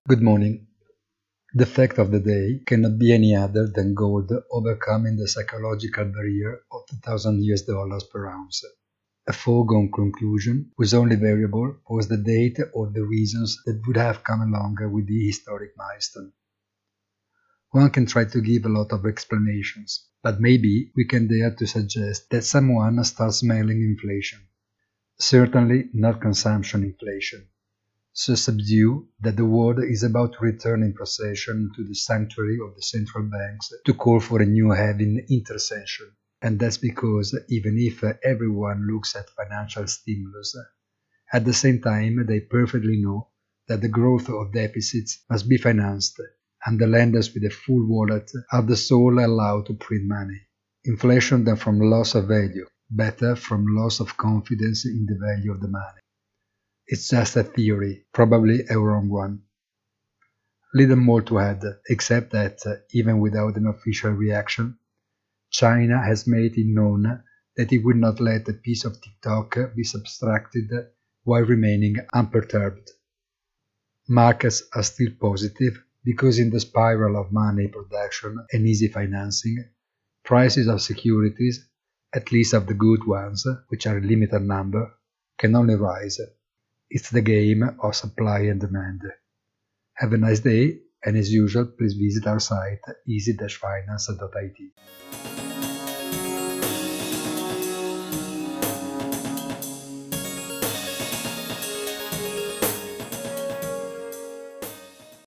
Good morning. The fact of the day cannot be any other than gold overcoming the psychological barrier of $2,000 per ounce. A foregone conclusion whose only variable was the date or the reasons that would have come along with the historic milestone. One can try to give a lot of explanations, but maybe we can dare to suggest that someone starts smelling inflation. Certainly not consumption inflation. So subdued that the world is about to return in procession to the sanctuary of the central banks to call for a new heaven intercession. And that's because even if everyone looks at financial stimulus, at the same time they perfectly know that the growth of deficits must be financed, and the lenders with a full wallet are the sole allowed to print money. Inflation then from loss of value, better from loss of confidence in the value of the money. It's just a theory, probably a wrong one. Little more to add, except that, even without an official reaction, China has made it known that it will not let a piece of TikTok be subtracted while remaining unperturbed. Markets are still positive because in the spiral of money production and easy financing, prices of securities, at least of the good ones, which are a limited number, can only rise. It's the game of supply and demand. Have a nice day, and as usual, please visit our site easy-finance.it.